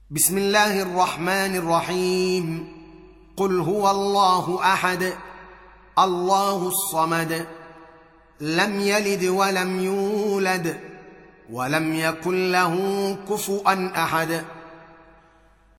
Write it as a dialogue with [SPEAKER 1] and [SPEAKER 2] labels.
[SPEAKER 1] بسم الله الرحمن الرحيم. قل هو الله احد الله الصمد لم يلد ولم يولد ولم يكن له كفوا احد.